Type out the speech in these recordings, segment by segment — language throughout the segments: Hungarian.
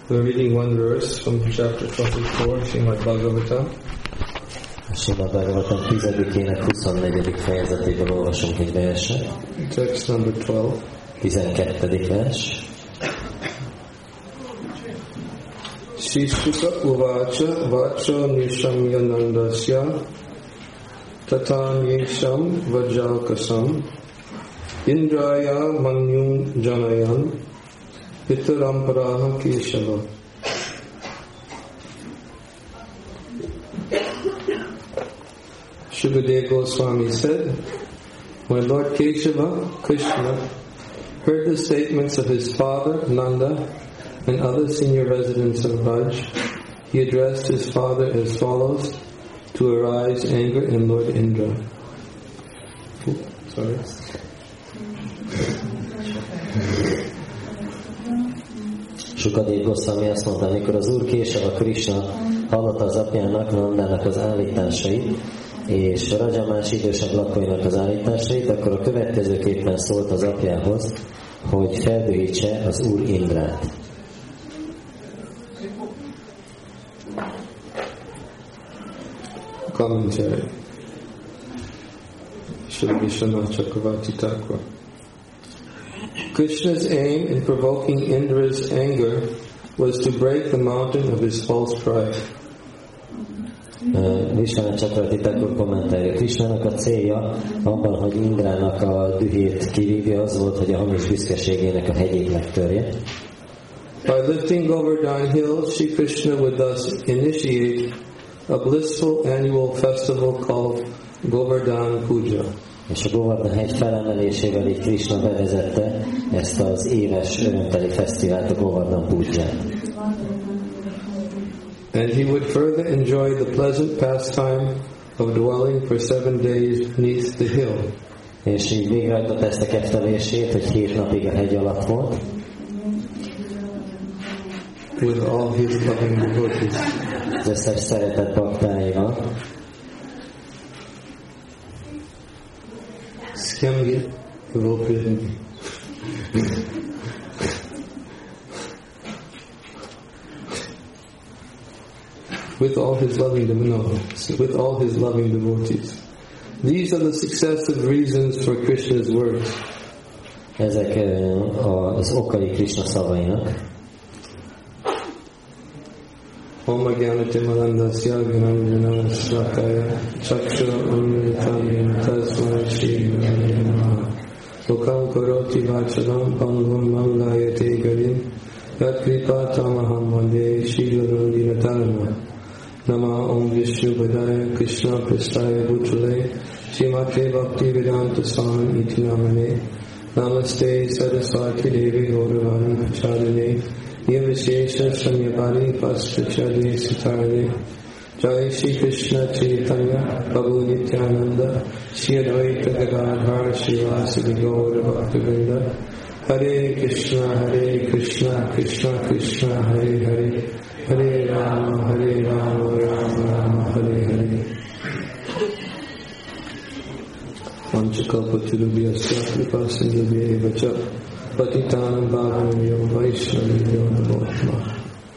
We're reading one verse from chapter 24, Srimad Bhagavatam. Srimad Bhagavatam 10-ének 24. fejezetéből olvasunk egy verset. Text number 12. 12. vers. Shishtuka uvacha vacha nishamyanandasya tatam yesham vajalkasam indraya manyum janayan pitaramparaha kesava. Shukadeva Goswami said, when Lord Keshava, Krishna, heard the statements of his father, Nanda, and other senior residents of Raj, he addressed his father as follows to arouse anger in Lord Indra. Sorry. Sukadeva Goswami azt mondta, amikor az Úr Késava Krishna hallotta az apjának, Nandának az állításait, és Raja más idősebb lakóinak az állításait, akkor a következőképpen szólt az apjához, hogy feldühítse az Úr Indrát. Commentary. Sri Vishwanath Chakravarti Thakur. Krishna's aim in provoking Indra's anger was to break the mountain of his false pride. Vishwanath Chakravarti Thakur kommentálja. Krishnának a célja abban, hogy Indrának a dühét kivívja, az volt, hogy a hamis büszkeségének a hegyét megtörje. By lifting Govardhan Hill, Shri Krishna would thus initiate a blissful annual festival called Govardhan Puja. És a Govardhan hegy felemelésével így Krishna bevezette ezt az éves örömteli fesztivált, a Govardhan Puját. And he would further enjoy the pleasant pastime of dwelling for 7 days beneath the hill. És így végrehajtott ezt a kettelését, hogy 7 napig a hegy alatt volt. With all his loving devotees. Az összes szeretett baktáival. Skemgi devotees. With all his loving devotees. These are the successive reasons for Krishna's words. Ezek az okai Krishna szavainak. Om Jnanati Malandasya Gyananjana Shrakaya Chakshura Amritam Tasmai Shri Gurave Namaha Lokam Karoti Vacharam Pangam Manlayate Garim Yat Kripa Tamaham Vande Shri Guru Dinatarana Nama Om Vishnu Padaya Krishna Pristaya Bhutale Srimate Bhakti Vedanta Swami Iti Namane Namaste Saraswati Devi Gauravani Pachadane Yavishesha Sanyapari Pastrachadi Sitarade Jai Shri Krishna Chaitanya Prabhu Nityananda Shri Advaita Gadadhar Srivasadi Gaura Bhaktivinoda Hare Krishna Krishna Krishna Hare Hare Hare Rama Rama Rama Hare Hare Vanchakalpatirubhyasya Kripa Sindhubhya Vacha Patitanam Bhavanyo Vaishnavyo Namo Namaha.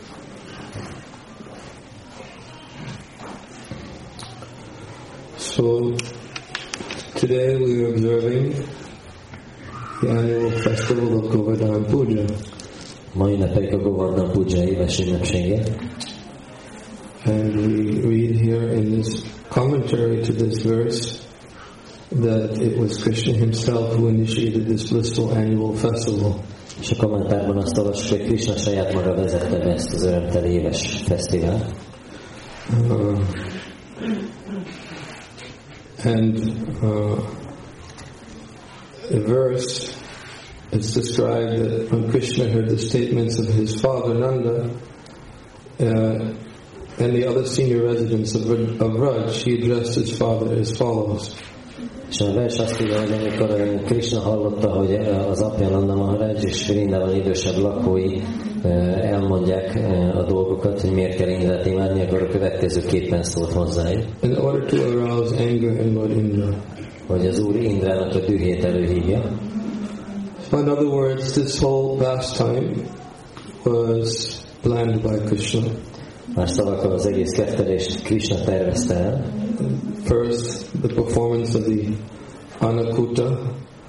So today we are observing the annual festival of Govardhan Puja. Ma ünnepeljük a Govardhan Puja éves ünnepsége. And we read here in this commentary to this verse that it was Krishna himself who initiated this blissful annual festival. És a kommentárban azt olvassuk, hogy Krishna saját maga vezette be ezt az örömteli éves fesztivált. The verse it's described that when Krishna heard the statements of his father Nanda and the other senior residents of Raj, he addressed his father as follows. És a vers azt írja, hogy amikor Krishna hallotta, hogy az apja Nanda Maharaj és Vrindában idősebb lakói elmondják a dolgokat, hogy miért kell Indrát imádni, akkor a következőképpen szólt hozzájuk. In order to arouse anger in Lord Indra. Hogy az Úr Indrának a dühét előhívja. In other words, this whole pastime was planned by Krishna. Más szavakkal az egész kettelést Krishna tervezte el. First, the performance of the Anakuta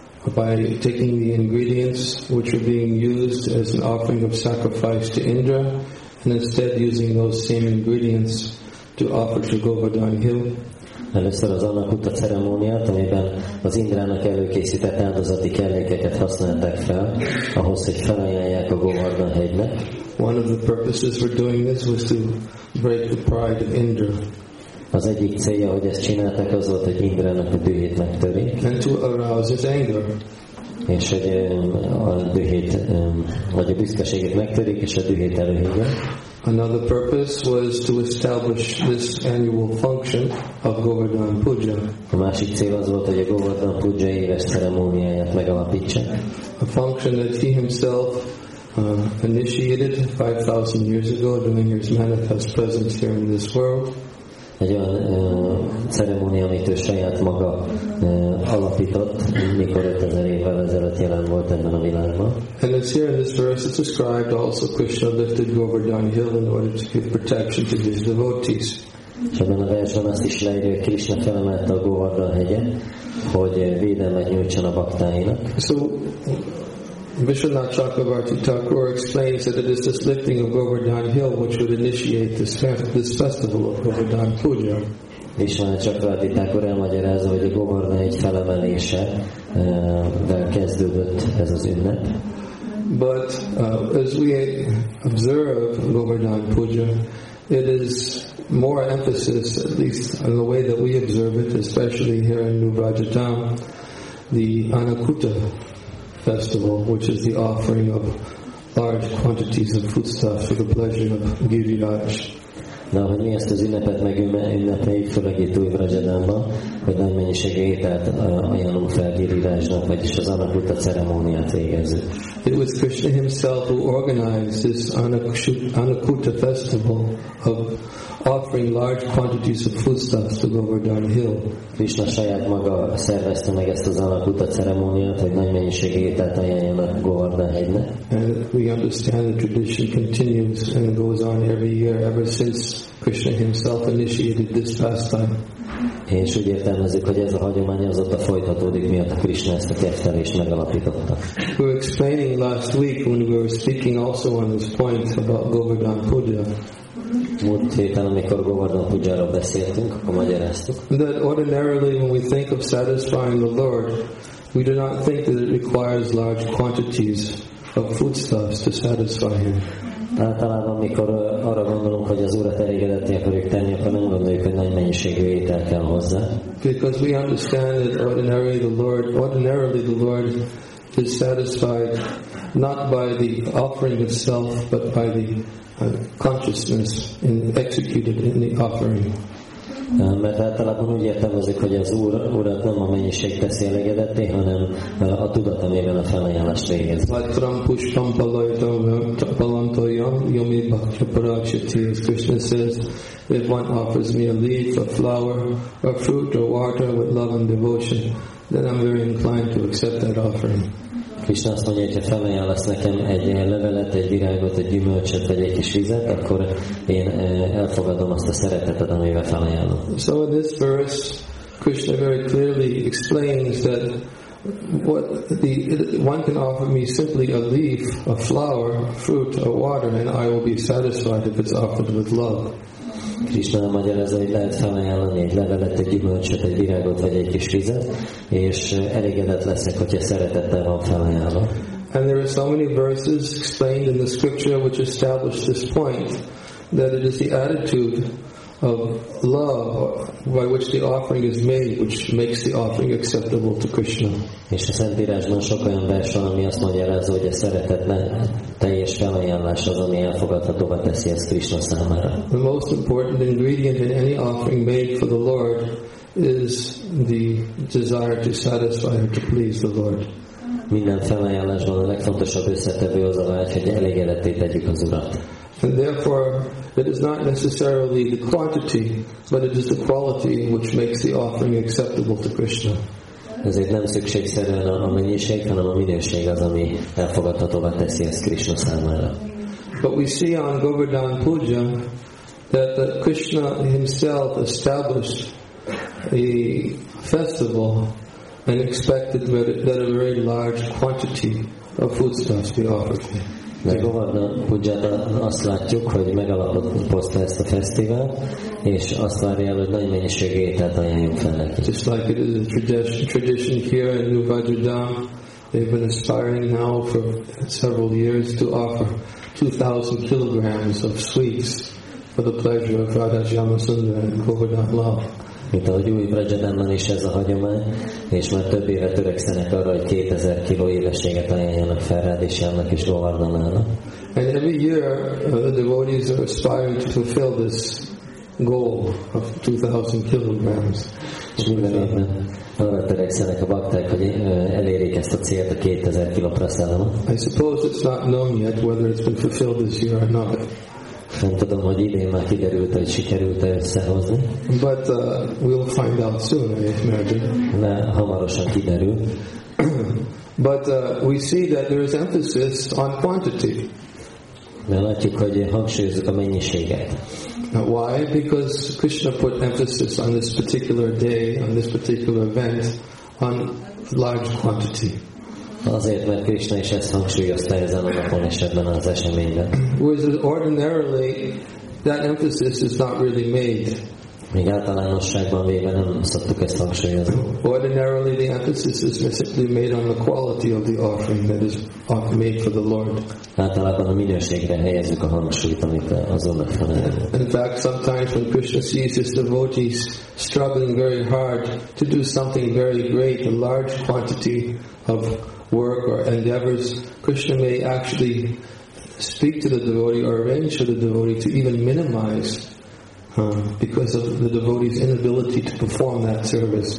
by taking the ingredients which were being used as an offering of sacrifice to Indra, and instead using those same ingredients to offer to Govardhan Hill. Először az Anakuta ceremóniát, amiben az Indrának előkészített áldozati kellékeket használták fel, ahhoz, hogy felajánlják a Govardhan hegynek. One of the purposes for doing this was to break the pride of Indra. Az egyik célja, hogy ezt csinálták, az volt, hogy Indrának a dühét megtörik. And to arouse his anger. És hogy a dühét, vagy a büszkeségét megtörik, és a dühét előhívja. Another purpose was to establish this annual function of Govardhan Puja. A másik cél az volt, hogy a Govardhan Puja éves ceremóniáját megalapítsa. A function that he himself initiated 5,000 years ago during his manifest presence here in this world. Egy olyan ceremónia, amit ő saját maga alapított, mikor 5000 évvel ezelőtt jelen volt ebben a világban. And it's here in this verse it's described also Krishna lifted Govardhan Hill in order to give protection to his devotees. És ebben a versben azt is leírja, hogy Krishna felemelte a Govardhan hegyet, hogy védelmet nyújtson a baktáinak. So Vishwanath Chakravarti Thakur explains that it is this lifting of Govardhan Hill which would initiate this festival of Govardhan Puja. Vishwanath Chakravarti Thakur elmagyarázza, hogy a Govardhan egy felemelése kezdődött ez az ünnep. But as we observe Govardhan Puja, it is more emphasis, at least in the way that we observe it, especially here in New Rajadam, the Anakuta festival, which is the offering of large quantities of foodstuff for the pleasure of Giriraj. De ahogy mi ezt az ünnepet megünnepeljük, főleg itt Új Vrajadánban, hogy nagy mennyiségű ételt ajánlunk fel Girirajnak, vagyis az Anakuta ceremóniát végezzük. It was Krishna himself who organized this Anakuta festival of offering large quantities of foodstuffs to Govardhan Hill. Krishna saját maga szervezte meg ezt az Anakuta ceremóniát, hogy nagy mennyiségű ételt ajánljanak Govardhan hegynek. And we understand the tradition continues and goes on every year ever since Krishna himself initiated this pastime. És úgy értelmezzük, hogy ez a hagyomány azóta folytatódik, miatt a Krishna ezt a kettelést megalapította. We were explaining last week when we were speaking also on this point about Govardhan Puja. Múlt héten, amikor Govardhan Pujáról beszéltünk, akkor magyaráztuk. That ordinarily when we think of satisfying the Lord, we do not think that it requires large quantities of foodstuffs to satisfy Him. Általában, mikor arra gondolunk, hogy az Urat elégedetté akarjuk tenni, akkor nem gondoljuk, hogy nagy mennyiségű étel kell hozzá. Because we understand that ordinarily the Lord is satisfied not by the offering itself, but by the consciousness executed in the offering. Mert általában úgy értelmezik, hogy az Urat nem a mennyiség teszi elégedetté, hanem a tudat, amiben a felajánlást végez. As Krishna says, if one offers me a leaf, a flower, a fruit or water with love and devotion, then I'm very inclined to accept that offering. Krishna azt mondja, hogy ha felajánlasz nekem egy levelet, egy virágot, egy gyümölcsöt, vagy egy kis vizet, akkor én elfogadom azt a szeretetet, amivel felajánlom. So in this verse, Krishna very clearly explains that one can offer me simply a leaf, a flower, fruit, or water, and I will be satisfied if it's offered with love. Krishna magyarázza, hogy lehet felajánlani egy levelet, egy gyümölcsöt, egy virágot vagy egy kis vizet, és elégedett leszek, hogyha szeretettel van felajánlva. And there are so many verses explained in the scripture which establish this point, that it is the attitude of love by which the offering is made, which makes the offering acceptable to Krishna. És a Szentírásban sok olyan vers van, ami azt magyarázza, hogy a szeretet teljes felajánlás az, ami elfogadhatóvá teszi ezt Krishna számára. The most important ingredient in any offering made for the Lord is the desire to satisfy or to please the Lord. Minden felajánlásban a legfontosabb összetevő az a vágy, hogy elégedetté tegyük az Urat. And therefore, it is not necessarily the quantity, but it is the quality which makes the offering acceptable to Krishna. Ezért nem szükségszerűen a mennyiség, hanem a minőség az, ami elfogadhatóvá teszi ezt Krishna számára. But we see on Govardhan Puja that Krishna himself established a festival and expected that a very large quantity of foodstuffs be offered him. De Govardhan Pujában azt látjuk, hogy megalapozta ezt a fesztivált, és azt várja el, hogy nagy mennyiségű ételt ajánljunk fel neki. Just like it is a tradition here in New Vajradham, they've been aspiring now for several years to offer 2,000 kilograms of sweets for the pleasure of Radha Shyamasundar and Govardhan Lal. Mint ahogy új Vrajadhamban is ez a hagyomány, és már több éve törekszenek arra, hogy 2000 kiló édességet ajánljanak fel Radhishyamnak és Govardhannak. And every year the devotees are aspiring to fulfill this goal of 2,000 kilograms. És minden évben arra törekszenek a bakták, hogy elérjék ezt a célt, a 2000 kiló prasadamot. I suppose it's not known yet whether it's been fulfilled this year or not. Nem tudom, hogy idén már kiderült, hogy sikerült-e összehozni. But we'll find out soon, I imagine. De hamarosan kiderül. But we see that there is emphasis on quantity. De látjuk, hogy hangsúlyozzuk a mennyiséget. Why? Because Krishna put emphasis on this particular day, on this particular event, on large quantity. Azért, mert Krishna is ezt hangsúlyozta ezen a napon és ebben az eseményben. Whereas ordinarily that emphasis is not really made. Még általánosságban véve nem szoktuk ezt hangsúlyozni. Ordinarily the emphasis is simply made on the quality of the offering that is made for the Lord. Általában a minőségre helyezzük a hangsúlyt, amit az Úrnak felel. In fact, sometimes when Krishna sees his devotees struggling very hard to do something very great, a large quantity of work or endeavors, Krishna may actually speak to the devotee or arrange for the devotee to even minimize because of the devotee's inability to perform that service.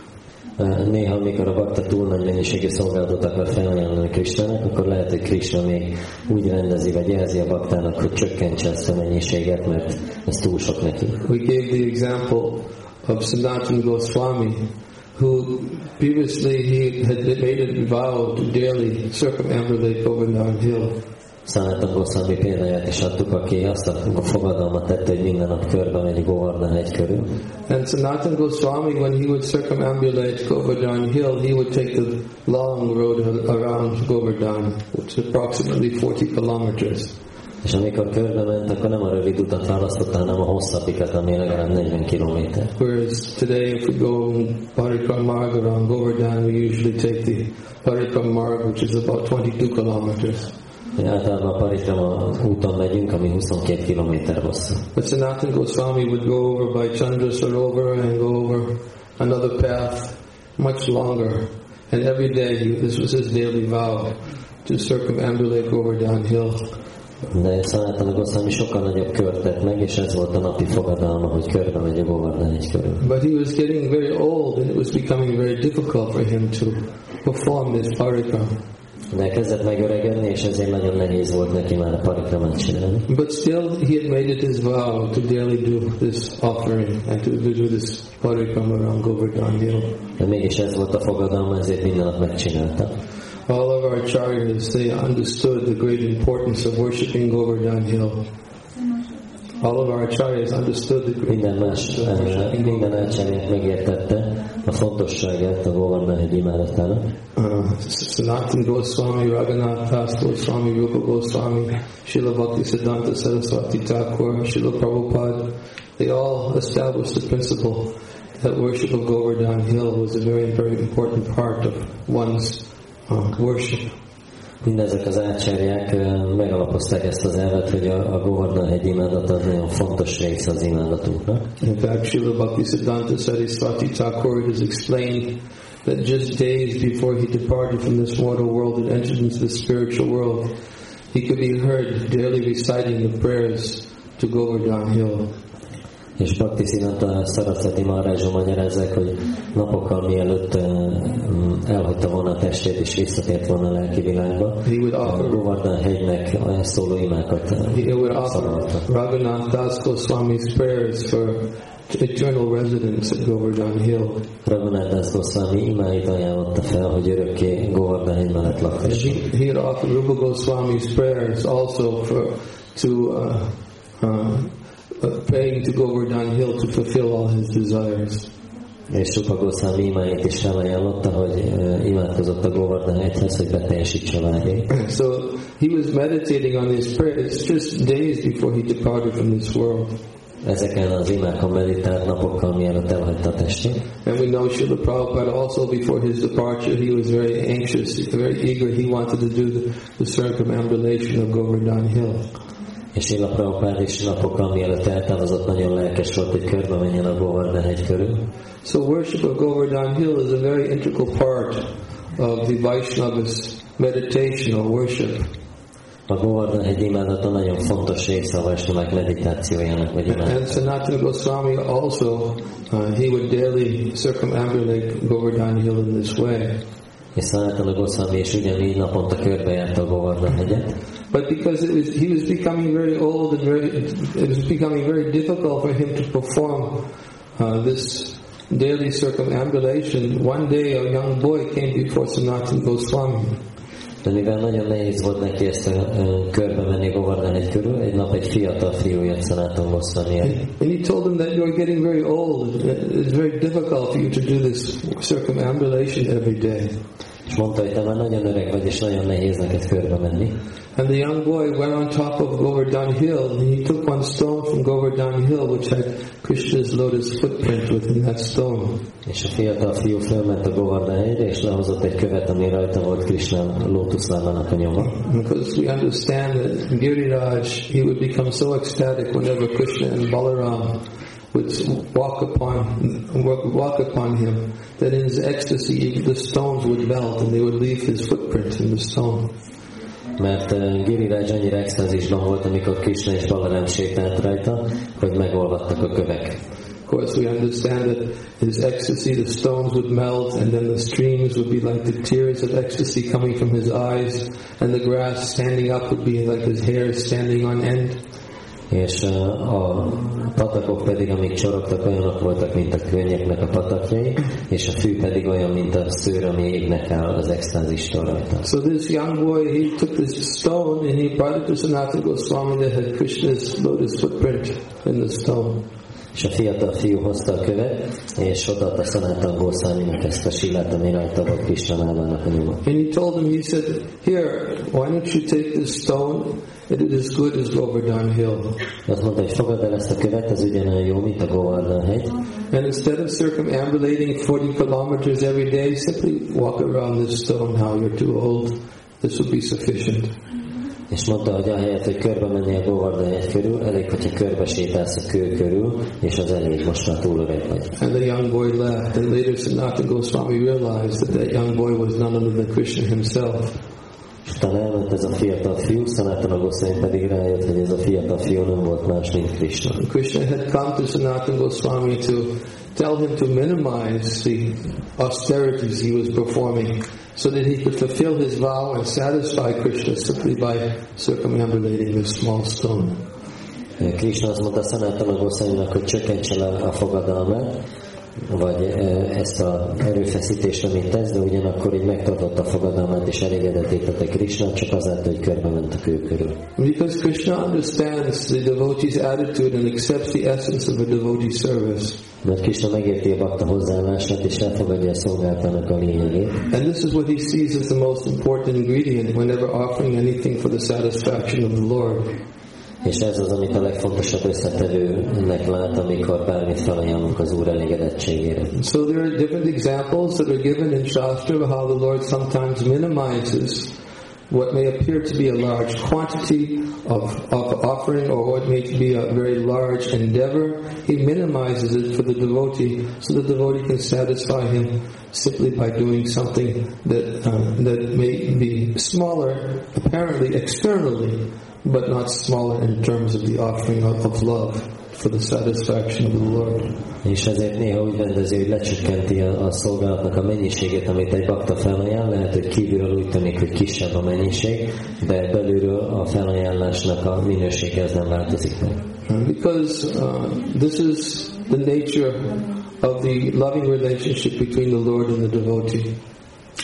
Néha, amikor a bakta túl nagy mennyiségű szolgálatot akar felajánlani Krishnának, akkor lehet, hogy Krishna még úgy rendezi, vagy jelzi a baktának, hogy csökkentse ezt a mennyiséget, mert ez túl sok neki. We gave the example of Sanatana Goswami, who previously he had made a vow to daily circumambulate Govardhan Hill. Sanatana Goswami példáját is adtuk, aki azt a fogadalmat tette, hogy minden nap körbe megy Govardhan hegy körül. And Sanatana Goswami, when he would circumambulate Govardhan Hill, he would take the long road around Govardhan, which is approximately 40 kilometers. És amikor körbe ment, akkor nem a rövid utat választotta, hanem a hosszabbikat, ami legalább 40 kilométer. Whereas today, if we go Parikram Marg around Govardhan, we usually take the Parikram Marg, which is about 22 kilometers. Általában a Parikrama úton megyünk, ami 22 kilométer hosszú. But Sanatana Goswami would go over by Chandra Sarovar and go over another path much longer. And every day, this was his daily vow, to circumambulate Govardhan Hill. De Sanatana Goswami sokkal nagyobb kört tett meg, és ez volt a napi fogadalma, hogy körbe megy a Govardhan hegy körül. But he was getting very old, and it was becoming very difficult for him to perform this parikram. De kezdett megöregedni, és ezért nagyon nehéz volt neki már a parikramát csinálni. But still, he had made it his vow to daily do this offering and to do this parikram around Govardhan Hill. De mégis ez volt a fogadalma, ezért minden nap megcsinálta. All of our acharyas, they understood the great importance of worshiping Govardhan Hill. All of our acharyas understood the great importance of worshiping minden ácsárját megértette a fontosságát a Govardhan hegy imádatának. Sanatana Goswami, Raghunath Das Goswami, Rupa Goswami, Srila Bhaktisiddhanta Saraswati Thakur, Srila Prabhupada, they all established the principle that worship of Govardhan Hill was a very, very important part of one's worship. Mindezek az ácsárják megalapozták ezt az elvet, hogy a Govardhan hegy imádat az nagyon fontos része az imádatunknak. In fact, Srila Bhaktisiddhanta Saraswati Thakur has explained that just days before he departed from this mortal world and entered into the spiritual world, he could be heard daily reciting the prayers to Govardhan Hill. És Bhaktisiddhanta Saraswati Maharajja magyarázzák, hogy napokkal mielőtt elhagyta volna a testét és visszatért volna a lelki világba, a Govardhan hegynek szóló imákat szavazta. Raghunath Das Goswami's prayers for eternal residence at Govardhan Hill. Raghunath Das Goswami imáit ajánlotta fel, hogy örökké Govardhan hegy mellett lakhasson. He had offered Rupa Goswami's prayers also for praying to Govardhan Hill to fulfill all his desires. És Rupa Goswami imáit is felajánlotta, hogy imádkozott a Govardhan hegyhez, hogy beteljesítse vágyait. So he was meditating on these prayers just days before he departed from this world. Ezeken az imákon meditált napokkal, mielőtt elhagyta a testét. And we know Srila Prabhupada also before his departure he was very anxious, very eager. He wanted to do the circumambulation of Govardhan Hill. És Srila Prabhupada is napokkal mielőtt eltávozott nagyon lelkes volt, hogy körbe menjen a Govardhan hegy körül. So worship of Govardhan Hill is a very integral part of the Vaishnava's meditation or worship. A Govardhan hegy imádata nagyon fontos része a Vaisnavák meditációjának, vagy imádatának. And Sanatana Goswami also, he would daily circumambulate Govardhan Hill in this way. És Sanatana Goswami is ugyanígy naponta körbejárta a Govardhan hegyet. But because he was becoming very old and it was becoming very difficult for him to perform this daily circumambulation, one day a young boy came before Sanatana Goswami. De mivel nagyon nehéz volt neki ezt körbe menni Govardhan hegy körül, egy nap egy fiatal fiú jött Sanatana Goswami. And he told him that you're getting very old. It's very difficult for you to do this circumambulation every day. És mondta, hogy te már nagyon öreg vagy, és nagyon nehéz neked körbe menni. And the young boy went on top of Govardhan Hill, and he took one stone from Govardhan Hill, which had Krishna's lotus footprint within that stone. És a fiatal fiú fölment a Govardhan hegyre, és lehozott egy követ, ami rajta volt Krishna lótuszlábának a nyoma. Because we understand that Giriraj, he would become so ecstatic whenever Krishna and Balaram would walk upon him, that in his ecstasy the stones would melt and they would leave his footprint in the stone. Mert Giriraj annyira extázisban volt, amikor Krishna és Balaram sétált rajta, hogy megolvadtak a kövek. Of course, we understand that his ecstasy, the stones would melt, and then the streams would be like the tears of ecstasy coming from his eyes, and the grass standing up would be like his hair standing on end. És a patakok pedig, amik csorogtak, olyanok voltak, mint a könnyeknek a patakjai, és a fű pedig olyan, mint a szőr, ami égnek áll az extázistól rajta. So this young boy, he took this stone and he brought it to Sanatana Goswami that had Krishna's lotus footprint in the stone. És a fiatal fiú hozta a követ, és odaadta Sanatana Goswaminak ezt a silát, ami rajta volt Krishna lábának a nyoma. And he told him, he said, here, why don't you take this stone? It is as good as Govardhan Hill. Azt mondta, hogy fogadd el ezt a követ, ez ugyanolyan jó, mint a Govardhan hegy. And instead of circumambulating 40 kilometers every day, simply walk around this stone how you're too old. This will be sufficient. És mondta, hogy ahelyett, hogy körbe menni a Govardhan hegy körül, elég, hogyha körbe sétálsz a kő körül, és az elég, most már túl öreg vagy. And the young boy left, and later Sanatana Goswami realized that that young boy was none other than Krishna himself. És utána elment ez a fiatal fiú, Sanatana Goswami pedig rájött, hogy ez a fiatal fiú nem volt más, mint Krishna. Krishna had come to Sanatana Goswami to tell him to minimize the austerities he was performing so that he could fulfill his vow and satisfy Krishna simply by circumambulating this small stone. Krishna azt mondta Sanatana Goswaminak, hogy csökkentse le a fogadalmát, vagy ezt az erőfeszítést, amit tesz, de ugyanakkor így megtartotta a fogadalmát, és elégedetítette Krishna, csak azáltal, hogy körbe ment a kő körül. Because Krishna understands the devotee's attitude and accepts the essence of a devotee's service. Mert Krishna megérti a bakta hozzáállását, és elfogadja a szolgálatának a lényegét. And this is what he sees as the most important ingredient whenever offering anything for the satisfaction of the Lord. És ez az, amit a legfontosabb összetevőnek lát, amikor bármit felajánlunk az Úr elégedettségére. So there are different examples that are given in Shastra of how the Lord sometimes minimizes what may appear to be a large quantity of offering or what may be a very large endeavor. He minimizes it for the devotee so the devotee can satisfy him simply by doing something that may be smaller apparently externally, but not smaller in terms of the offering of love for the satisfaction of the Lord. És ezért néha úgy rendezi, hogy lecsökkenti a szolgálatnak a mennyiségét, amit egy bakta felajánl, lehet, hogy kívülről úgy tűnik, hogy kisebb a mennyiség, de belülről a felajánlásnak a minősége az nem változik meg. Because this is the nature of the loving relationship between the Lord and the devotee.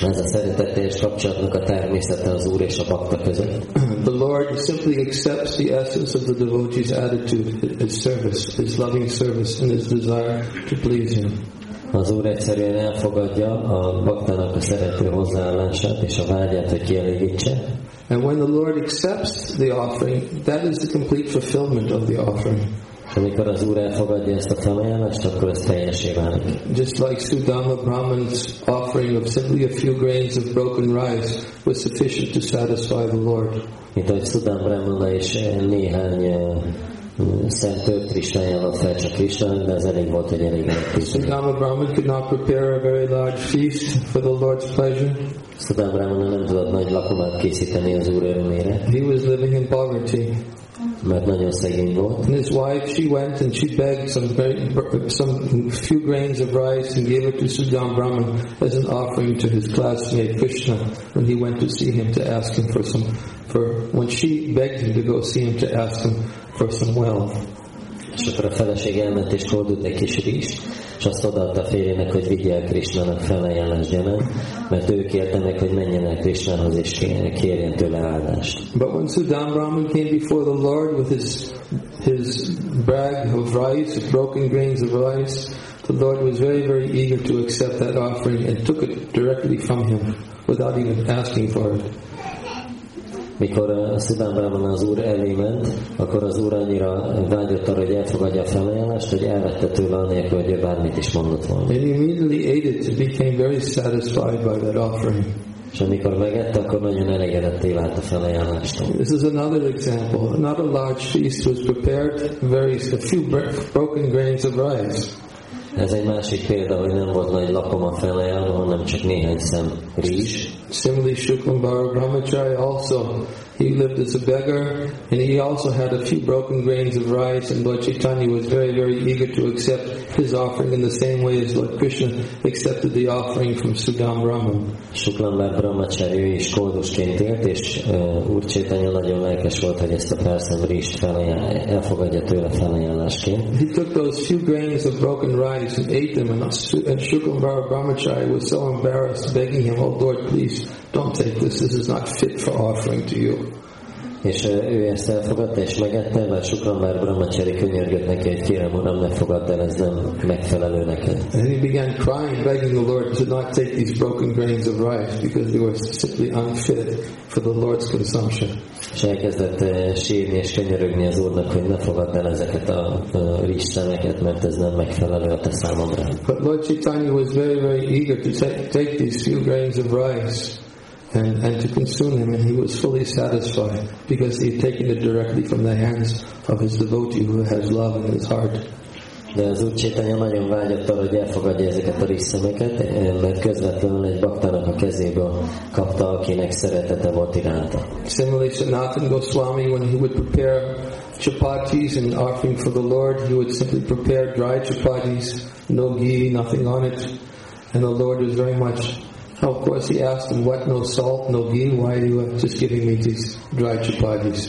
Ez a szereteteljes kapcsolatnak a természete az Úr és a bakta között. The Lord simply accepts the essence of the devotee's attitude, his service, his loving service, and his desire to please Him. Az Úr egyszerűen elfogadja a baktának a szerető hozzáállását és a vágyát, hogy kielégítse. And when the Lord accepts the offering, that is the complete fulfillment of the offering. Amikor az Úr elfogadja ezt a felajánlást, akkor ez teljesé válik. Just like Sudama Brahman's offering of simply a few grains of broken rice was sufficient to satisfy the Lord. Mint ahogy Sudama Brahmana is néhány szent tört ajánlott fel csak Krisnának, de ez elég volt, hogy elég lett. Sudama Brahman could not prepare a very large feast for the Lord's pleasure. Sudama Brahmana nem tudott nagy lakomát készíteni az Úr örömére. He was living in poverty. Mert nagyon szegény volt. And his wife, she went and she begged some few grains of rice and gave it to Sudama Brahman as an offering to his classmate Krishna when he went to see him to ask him when she begged him to go see him to ask him for some wealth. És akkor a feleség elment és hordott egy kis rizst, és azt odaadta férjének, hogy vigye el Krishnának felajánlás gyanánt, mert ő kérte meg, hogy menjen el Krishnához és kérjen tőle áldást. But when Sudama Brahman came before the Lord with his bag of rice, of broken grains of rice, the Lord was very, very eager to accept that offering and took it directly from him without even asking for it. Mikor Sudama Brahmana az Úr elé ment, akkor az Úr annyira vágyott arra, hogy elfogadja a felajánlást, hogy elvette tőle anélkül, hogy ő bármit is mondott volna. And he immediately ate it and became very satisfied by that offering. És amikor megette, akkor nagyon elégedetté vált a felajánlástól. This is another example. Not a large feast was prepared, a few broken grains of rice. Ez egy másik példa, hogy nem volt nagy lakoma felajánlva, hanem csak néhány szem rizs. Similarly, Shukambhara Brahmachari also, he lived as a beggar, and he also had a few broken grains of rice, and Lord Chaitanya was very, very eager to accept his offering in the same way as Lord Krishna accepted the offering from Sudama Brahman. Shukambhara Brahmachari, ő is koldusként élt, és Úr Chaitanya nagyon lelkes volt, hogy ezt a pár szem rizst elfogadja tőle felajánlásként. He took those few grains of broken rice and ate them, and Shukambhara Brahmachari was so embarrassed, begging him, "Oh Lord, please, don't take this. This is not fit for offering to you." És ő ezt elfogadta és megette, mert Shukambhara Brahmachari könyörgött neki, hogy kérem Uram, ne fogadd el, ez nem megfelelő neked. And he began crying, begging the Lord to not take these broken grains of rice because they were simply unfit for the Lord's consumption. És elkezdett sírni és könyörögni az Úrnak, hogy ne fogadd el ezeket a rizsszemeket, mert ez nem megfelelő a te számomra. But Lord Chaitanya was very, very eager to take these few grains of rice and to consume them, and he was fully satisfied because he had taken it directly from the hands of his devotee who has love in his heart. De az Úr Chaitanya nagyon vágyott arra, hogy elfogadja ezeket a rizsszemeket, mert közvetlenül egy baktának a kezéből kapta, akinek szeretete volt iránta. Similarly, Sanatana Goswami, when he would prepare chapatis and offering for the Lord, he would simply prepare dry chapatis, no ghee, nothing on it, and the Lord was very much. Of course, he asked him, "What? No salt, no ghee? Why are you just giving me these dry chapatis?"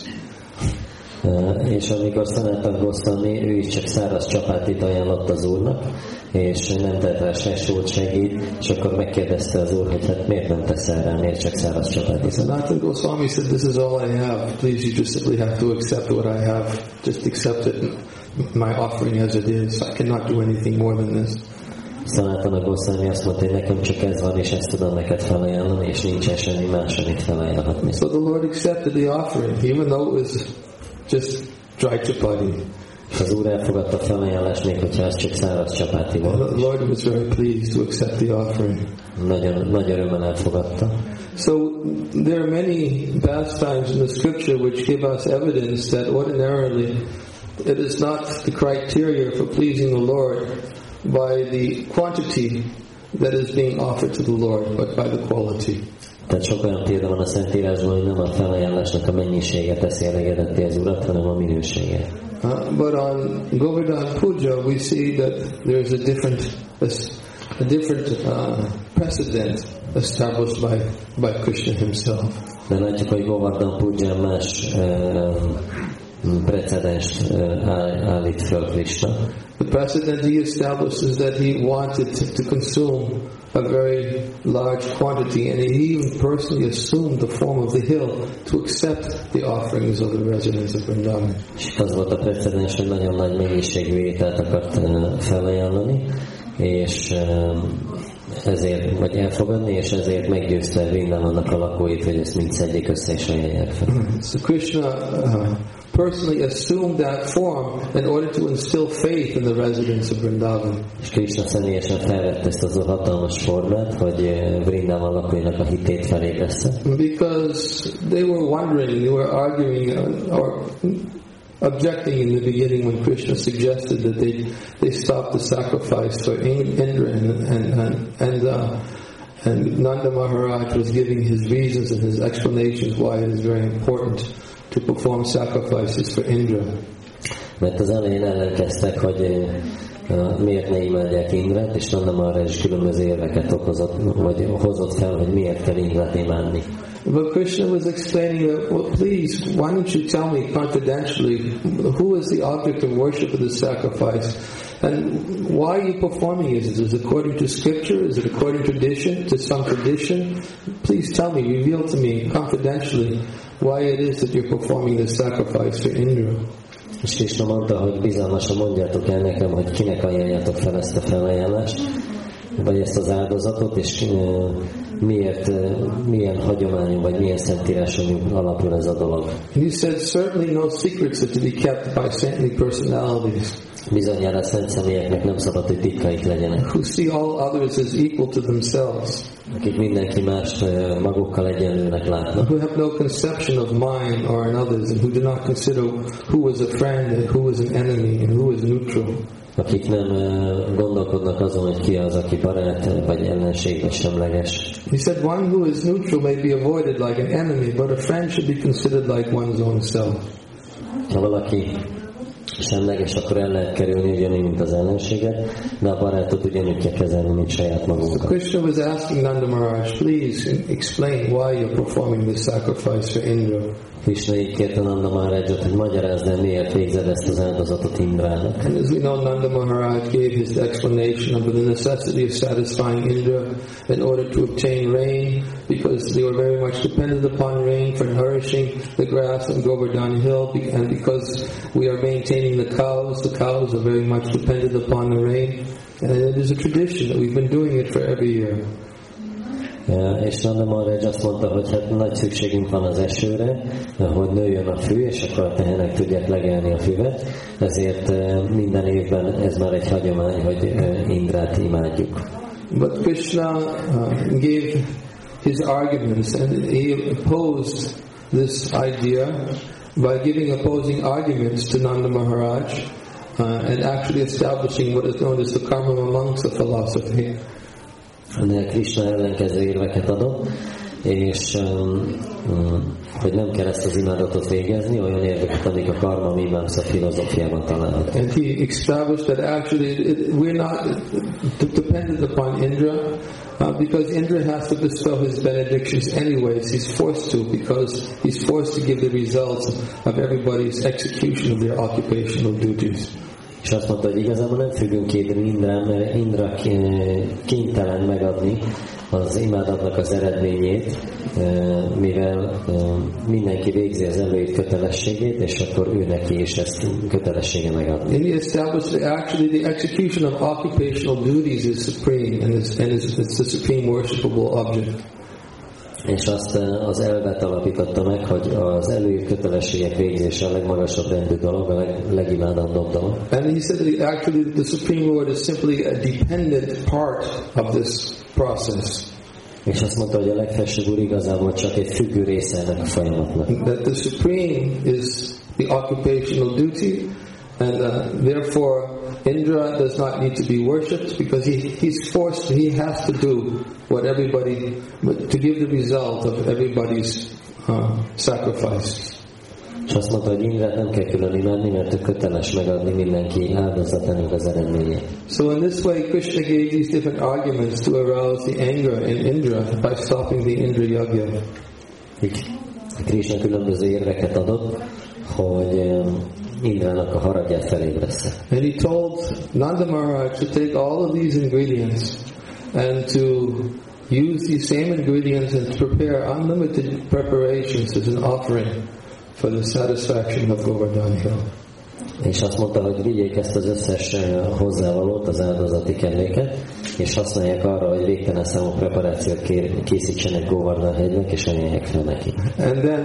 És amikor Sanatana Goswami, ő is csak száraz csapátit ajánlott az Úrnak, és nem tett rá se sót, se ghee, és akkor megkérdezte az Úr, hogy hát miért nem teszel rá, miért csak száraz csapátit? Sanatana Goswami said, "This is all I have. Please, you just simply have to accept what I have. Just accept it, my offering as it is. I cannot do anything more than this." Sanatana Goswami azt mondta, hogy nekem csak ez van, és ezt tudom neked felajánlani, és nincsen semmi más, amit felajánlhatni. So the Lord accepted the offering, even though it was just dry chapati. Az Úr elfogadta a felajánlást, még hogyha ez csak száraz csapáti volt. The Lord was very pleased to accept the offering. Nagy örömmel elfogadta. So there are many pastimes in the scripture which give us evidence that ordinarily it is not the criteria for pleasing the Lord by the quantity that is being offered to the Lord, but by the quality. Tehát sok olyan példa van a Szentírásban, hogy nem a felajánlásnak a mennyisége teszi elégedetté az Urat, hanem a minősége. But on Govardhan Puja we see that there is a different precedent established by Krishna himself. De látjuk, hogy Govardhan Puján más precedenst állít föl Krishna. The precedent he establishes is that he wanted to consume a very large quantity, and he even personally assumed the form of the hill to accept the offerings of the residents of Vrindavan. És az volt a precedens, hogy nagyon nagy mennyiségű ételt akart felajánlani, és ezért, vagy elfogadni, és ezért meggyőzte Vrindavannak a lakóit, hogy ezt mind szedjék össze és ajánlják fel. So Krishna personally assumed that form in order to instill faith in the residents of Vrindavan. És Krishna személyesen felvette ezt az a hatalmas formát, hogy Vrindavan lakóinak a hitét felébressze. Because they were wondering, they were arguing or objecting in the beginning when Krishna suggested that they stop the sacrifice for Indra, and Nanda Maharaj was giving his reasons and his explanations why it is very important to perform sacrifices for Indra. Mert az elején ellenkeztek, hogy miért ne imádják Indrát, és Nanda Maharaj is különböző érveket hozott fel, hogy miért kell Indrát imádni. But Krishna was explaining that, well, please, why don't you tell me confidentially who is the object of worship of this sacrifice, and why are you performing it? Is it according to scripture? Is it according to some tradition? Please tell me, reveal to me confidentially why it is that you're performing this sacrifice for Indra. És Krishna mondta, hogy bizalmasan mondjátok el nekem, hogy kinek ajánljátok fel ezt a felajánlást, vagy ezt az áldozatot, és miért, milyen hagyományon, vagy milyen szentíráson alapul ez a dolog. He said, certainly no secrets are to be kept by saintly personalities. Bizonyára szent személyeknek nem szabad, hogy titkaik legyenek. Who see all others as equal to themselves. Akik mindenki mást magukkal egyenlőnek látnak. Who have no conception of mine or in others, and who do not consider who is a friend and who is an enemy and who is neutral. Akik nem gondolkodnak azon, hogy ki az, aki barát, vagy ellenség, vagy semleges. He said, one who is neutral may be avoided like an enemy, but a friend should be considered like one's own self. Ha valaki semleges, akkor el lehet kerülni ugyanúgy, mint az ellenséget, de a barátot ugyanúgy kell kezelni, mint saját magunkat. So Krishna was asking Nanda Maharaj, please explain why you're performing this sacrifice for Indra. Krishna így kérte Nanda Maharajot, hogy magyarázd el, miért végzed ezt az áldozatot Indrának. And as we know, Nanda Maharaj gave his explanation of the necessity of satisfying Indra in order to obtain rain, because they were very much dependent upon rain for nourishing the grass on Govardhan Hill, and because we are maintaining the cows are very much dependent upon the rain, and it is a tradition that we've been doing it for every year. És Nanda Maharaj azt mondta, hogy hát nagy szükségünk van az esőre, hogy nőjön a fű, és akkor a tehenek tudják legelni a füvet, ezért minden évben ez már egy hagyomány, hogy Indrát imádjuk. But Krishna gave his arguments, and he opposed this idea by giving opposing arguments to Nanda Maharaj and actually establishing what is known as the Karma Mamamsa philosophy. De Krishna ellenkező érveket adott, és hogy nem kell ezt az imádatot végezni, olyan érveket, amik a Karma Mimamsa filozófiában találhatók. And he established that actually we're not dependent upon Indra, because Indra has to bestow his benedictions anyways. He's forced to, because he's forced to give the results of everybody's execution of their occupational duties. És azt mondta, hogy igazából nem függünk Indrán, mert Indra kénytelen megadni az imádatnak az eredményét, mivel mindenki végzi az előírt kötelességét, és akkor ő neki is ezt kötelessége megadni. And he established that actually the execution of occupational duties is supreme, and it's the supreme worshipable object. És azt az elvet alapította meg, hogy az előírt kötelességek végzése a legmagasabb rendű dolog, a legimádandabb dolog. And he said that actually the Supreme Lord is simply a dependent part of this process. És azt mondta, hogy a legfelsőbb úr igazából csak egy függő része ennek a folyamatnak. That the Supreme is the occupational duty, and therefore Indra does not need to be worshipped, because he's forced, he has to do what everybody, to give the result of everybody's sacrifices. És azt mondta, hogy Indrát nem kell külön imádni, mert ő köteles megadni mindenki áldozatának az eredményét. So in this way, Krishna gave these different arguments to arouse the anger in Indra by stopping the Indra Yagya. Krishna különböző érveket adott, hogy Indrának a haragját felébreszte. And he told Nanda Maharaj to take all of these ingredients and to use these same ingredients and to prepare unlimited preparations as an offering for the satisfaction of Govardhan Hill. És azt mondta, hogy vigyék ezt az összes hozzávalót, az áldozati kelléket, és használják arra, hogy végtelen számú preparációt készítsenek Govardhan hegynek, és ajánlják fel neki. And then